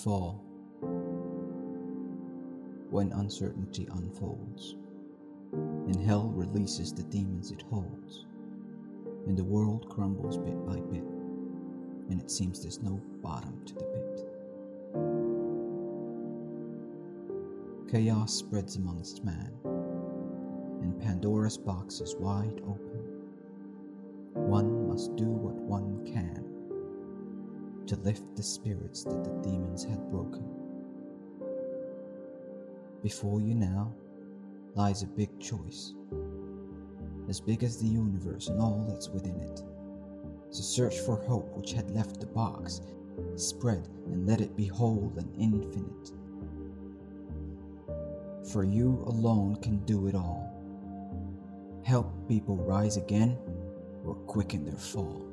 fall, when uncertainty unfolds, and hell releases the demons it holds, and the world crumbles bit by bit, and it seems there's no bottom to the pit. Chaos spreads amongst man, and Pandora's box is wide open. One must do what one can to lift the spirits that the demons had broken. Before you now lies a big choice, as big as the universe and all that's within it. To search for hope which had left the box, spread and let it be whole and infinite. For you alone can do it all. Help people rise again or quicken their fall.